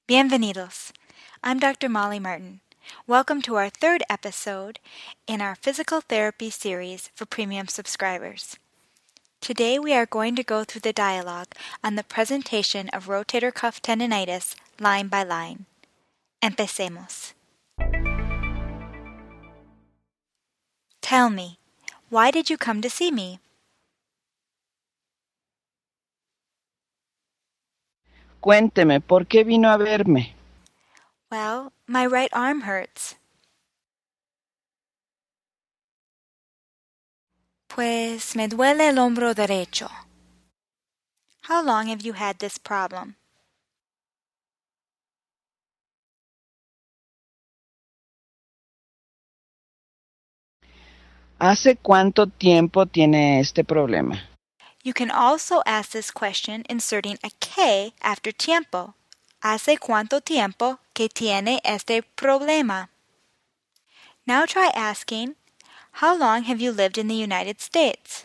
Bienvenidos. I'm Dr. Molly Martin. Welcome to our third episode in our physical therapy series for premium subscribers. Today we are going to go through the dialogue on the presentation of rotator cuff tendinitis line by line. Empecemos. Tell me, why did you come to see me? Cuénteme, ¿por qué vino a verme? Well, my right arm hurts. Pues me duele el hombro derecho. How long have you had this problem? ¿Hace cuánto tiempo tiene este problema? You can also ask this question inserting a K after tiempo. ¿Hace cuánto tiempo que tiene este problema? Now try asking, how long have you lived in the United States?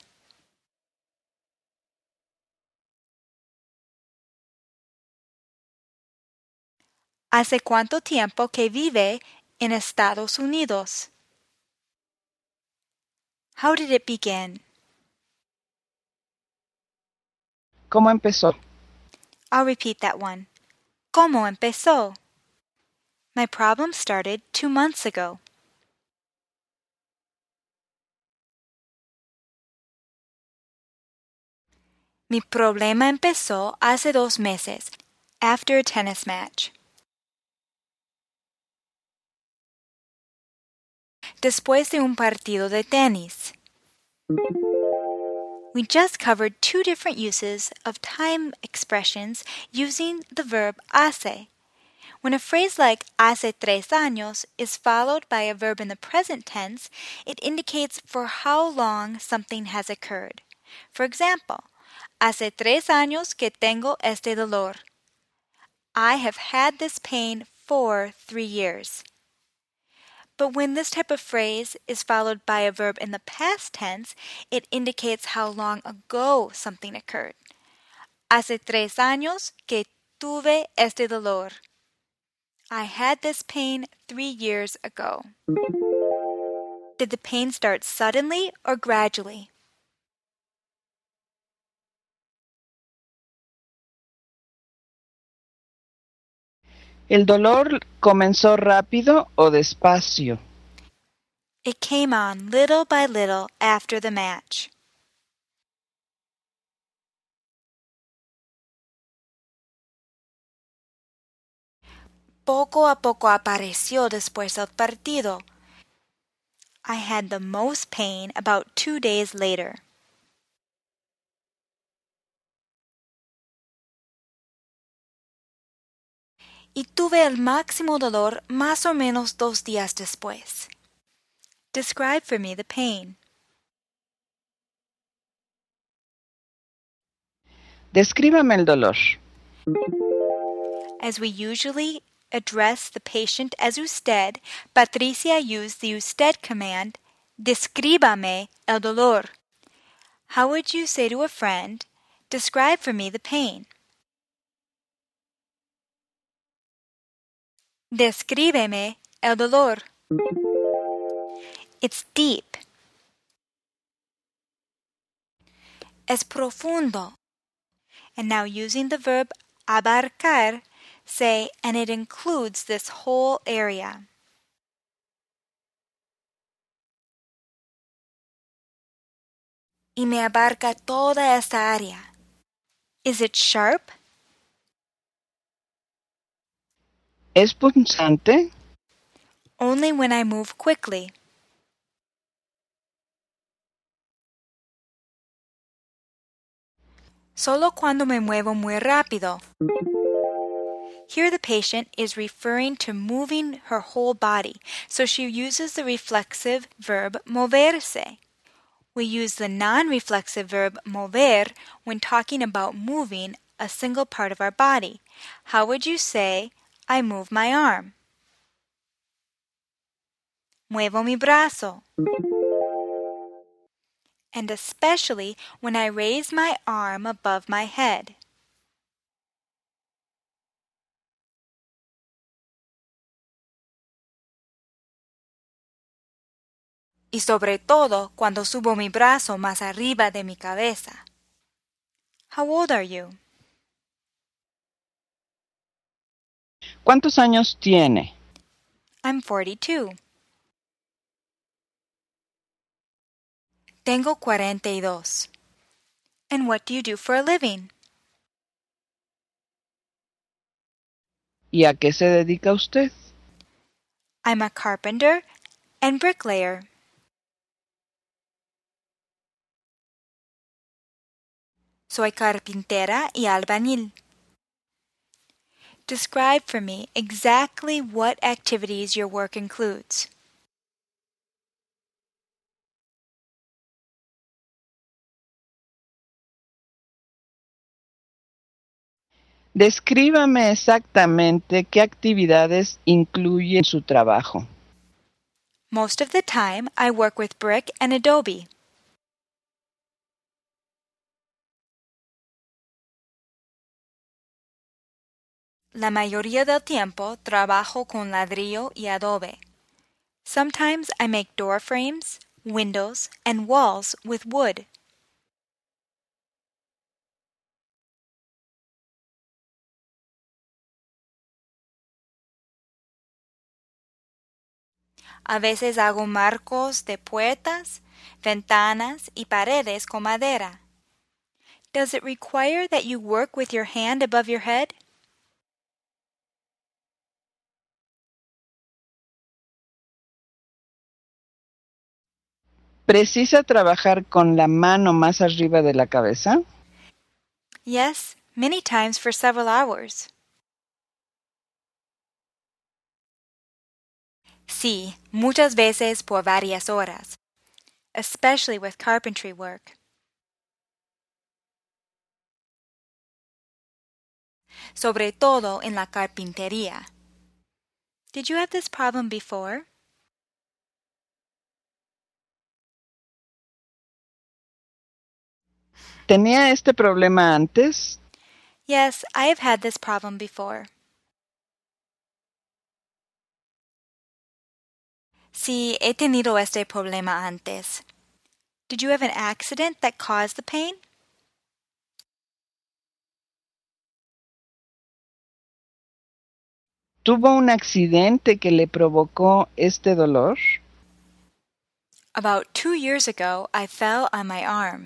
¿Hace cuánto tiempo que vive en Estados Unidos? How did it begin? ¿Cómo empezó? I'll repeat that one. ¿Cómo empezó? My problem started 2 months ago. Mi problema empezó hace 2 meses, after a tennis match. Después de un partido de tenis. We just covered 2 different uses of time expressions using the verb hace. When a phrase like hace 3 años is followed by a verb in the present tense, it indicates for how long something has occurred. For example, hace 3 años que tengo este dolor. I have had this pain for 3 years. But when this type of phrase is followed by a verb in the past tense, it indicates how long ago something occurred. Hace 3 años que tuve este dolor. I had this pain 3 years ago. Did the pain start suddenly or gradually? ¿El dolor comenzó rápido o despacio? It came on little by little after the match. Poco a poco apareció después del partido. I had the most pain about 2 days later. Y tuve el máximo dolor más o menos 2 días después. Describe for me the pain. Descríbame el dolor. As we usually address the patient as usted, Patricia used the usted command, descríbame el dolor. How would you say to a friend, describe for me the pain? Descríbeme el dolor. It's deep. Es profundo. And now using the verb abarcar, say, and it includes this whole area. Y me abarca toda esta área. Is it sharp? ¿Es punzante? Only when I move quickly. Solo cuando me muevo muy rápido. Here the patient is referring to moving her whole body, so she uses the reflexive verb moverse. We use the non-reflexive verb mover when talking about moving a single part of our body. How would you say, I move my arm? Muevo mi brazo. And especially when I raise my arm above my head. y sobre todo cuando subo mi brazo más arriba de mi cabeza. How old are you? ¿Cuántos años tiene? I'm 42. Tengo 42. And what do you do for a living? ¿Y a qué se dedica usted? I'm a carpenter and bricklayer. Soy carpintera y albañil. Describe for me exactly what activities your work includes. Descríbame exactamente qué actividades incluye su trabajo. Most of the time, I work with brick and adobe. La mayoría del tiempo trabajo con ladrillo y adobe. Sometimes I make door frames, windows, and walls with wood. A veces hago marcos de puertas, ventanas y paredes con madera. Does it require that you work with your hand above your head? ¿Precisa trabajar con la mano más arriba de la cabeza? Yes, many times for several hours. Sí, muchas veces por varias horas, especially with carpentry work. Sobre todo en la carpintería. Did you have this problem before? ¿Tenía este problema antes? Yes, I have had this problem before. Sí, he tenido este problema antes. Did you have an accident that caused the pain? ¿Tuvo un accidente que le provocó este dolor? About 2 years ago, I fell on my arm.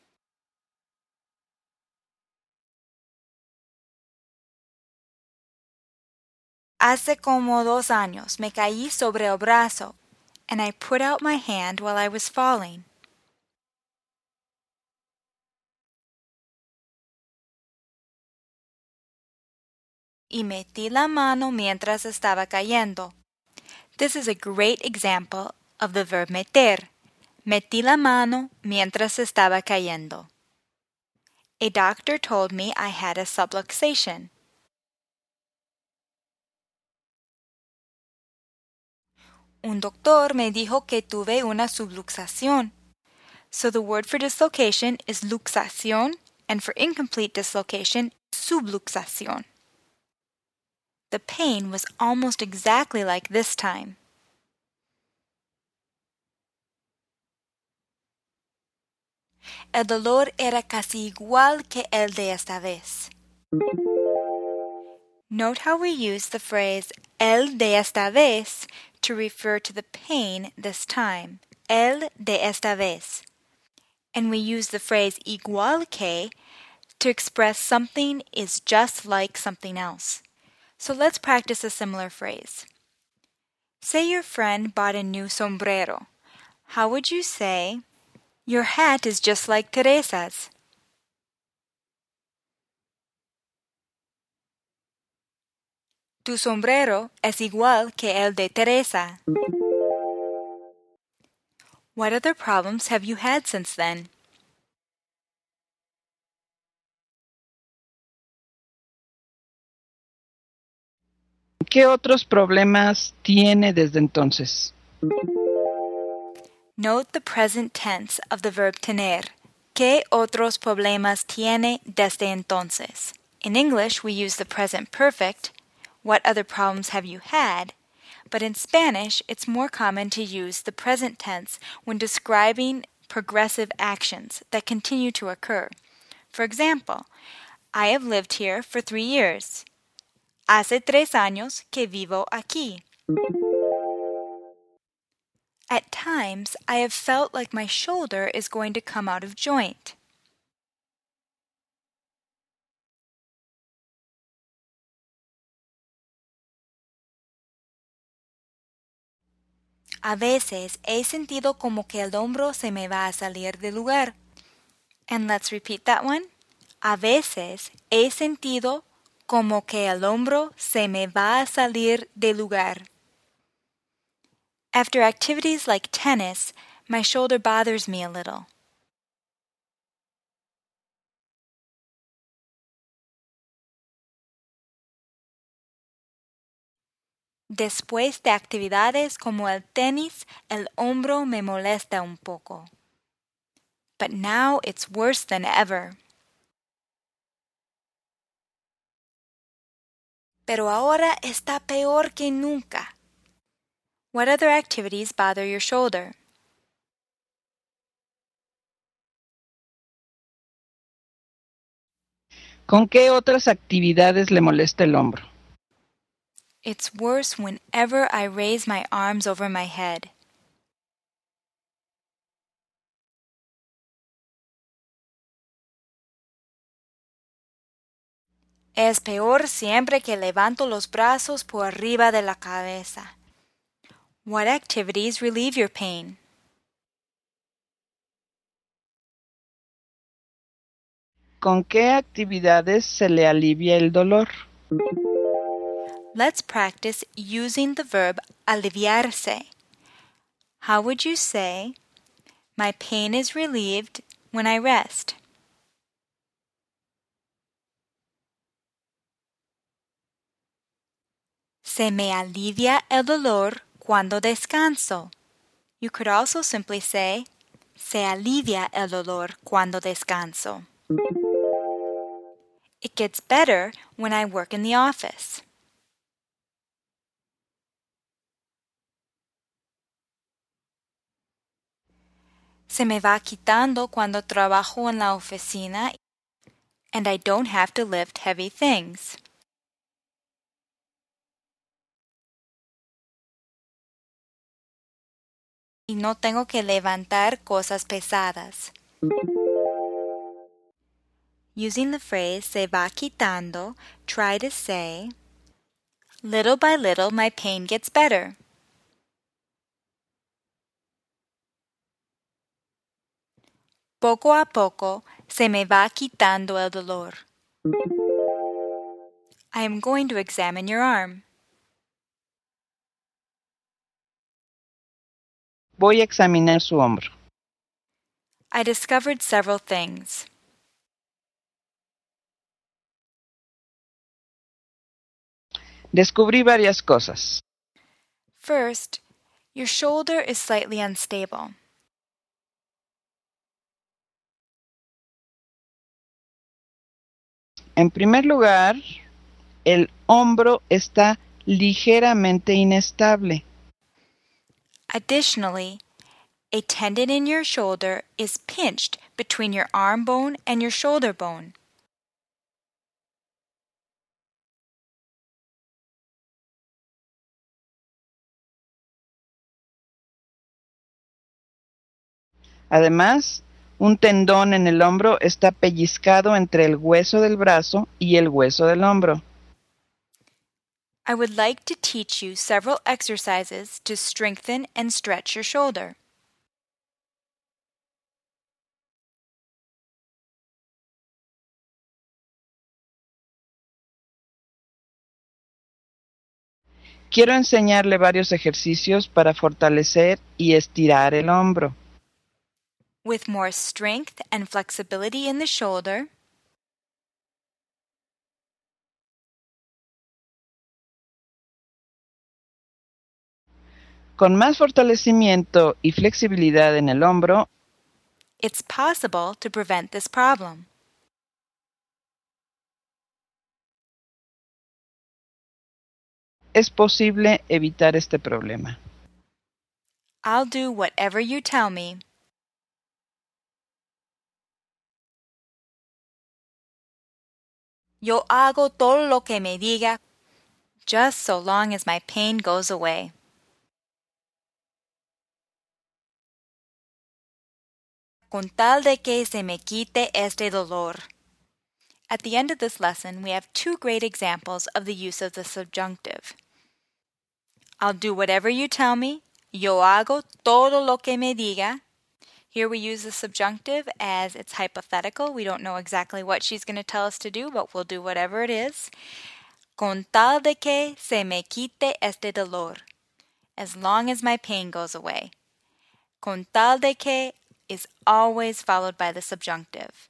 Hace como 2 años me caí sobre el brazo, and I put out my hand while I was falling. Y metí la mano mientras estaba cayendo. This is a great example of the verb meter. Metí la mano mientras estaba cayendo. A doctor told me I had a subluxation. Un doctor me dijo que tuve una subluxación. So the word for dislocation is luxación, and for incomplete dislocation, subluxación. The pain was almost exactly like this time. El dolor era casi igual que el de esta vez. Note how we use the phrase el de esta vez to refer to the pain this time. El de esta vez. And we use the phrase igual que to express something is just like something else. So let's practice a similar phrase. Say your friend bought a new sombrero. How would you say, your hat is just like Teresa's? Tu sombrero es igual que el de Teresa. What other problems have you had since then? ¿Qué otros problemas tiene desde entonces? Note the present tense of the verb tener. ¿Qué otros problemas tiene desde entonces? In English, we use the present perfect. What other problems have you had? but in Spanish, it's more common to use the present tense when describing progressive actions that continue to occur. For example, I have lived here for 3 years. Hace 3 años que vivo aquí. At times, I have felt like my shoulder is going to come out of joint. A veces he sentido como que el hombro se me va a salir del lugar. And let's repeat that one. A veces he sentido como que el hombro se me va a salir del lugar. After activities like tennis, my shoulder bothers me a little. Después de actividades como el tenis, el hombro me molesta un poco. But now it's worse than ever. Pero ahora está peor que nunca. What other activities bother your shoulder? ¿Con qué otras actividades le molesta el hombro? It's worse whenever I raise my arms over my head. Es peor siempre que levanto los brazos por arriba de la cabeza. What activities relieve your pain? ¿Con qué actividades se le alivia el dolor? Let's practice using the verb aliviarse. How would you say, my pain is relieved when I rest? Se me alivia el dolor cuando descanso. You could also simply say, se alivia el dolor cuando descanso. It gets better when I work in the office. Se me va quitando cuando trabajo en la oficina and I don't have to lift heavy things. Y no tengo que levantar cosas pesadas. Using the phrase se va quitando, try to say, little by little my pain gets better. Poco a poco se me va quitando el dolor. I am going to examine your arm. Voy a examinar su hombro. I discovered several things. Descubrí varias cosas. First, your shoulder is slightly unstable. En primer lugar, el hombro está ligeramente inestable. Additionally, a tendon in your shoulder is pinched between your arm bone and your shoulder bone. Además, un tendón en el hombro está pellizcado entre el hueso del brazo y el hueso del hombro. I would like to teach you several exercises to strengthen and stretch your shoulder. Quiero enseñarle varios ejercicios para fortalecer y estirar el hombro. With more strength and flexibility in the shoulder, Con más fortalecimiento y flexibilidad en el hombro, it's possible to prevent this problem. es posible evitar este problema? I'll do whatever you tell me. Yo hago todo lo que me diga, just so long as my pain goes away. Con tal de que se me quite este dolor. At the end of this lesson, we have two great examples of the use of the subjunctive. I'll do whatever you tell me. Yo hago todo lo que me diga. Here we use the subjunctive as it's hypothetical. We don't know exactly what she's going to tell us to do, but we'll do whatever it is. Con tal de que se me quite este dolor. As long as my pain goes away. Con tal de que is always followed by the subjunctive.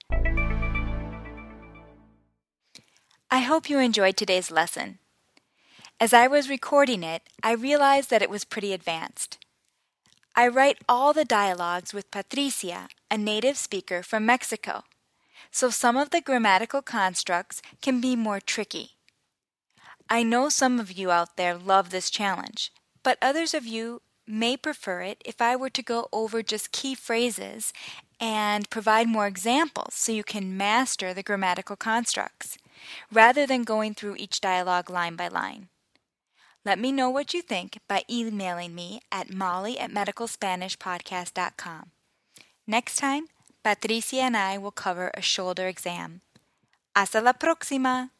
I hope you enjoyed today's lesson. As I was recording it, I realized that it was pretty advanced. I write all the dialogues with Patricia, a native speaker from Mexico, so some of the grammatical constructs can be more tricky. I know some of you out there love this challenge, but others of you may prefer it if I were to go over just key phrases and provide more examples so you can master the grammatical constructs, rather than going through each dialogue line by line. Let me know what you think by emailing me at molly@medicalspanishpodcast.com. Next time, Patricia and I will cover a shoulder exam. Hasta la próxima!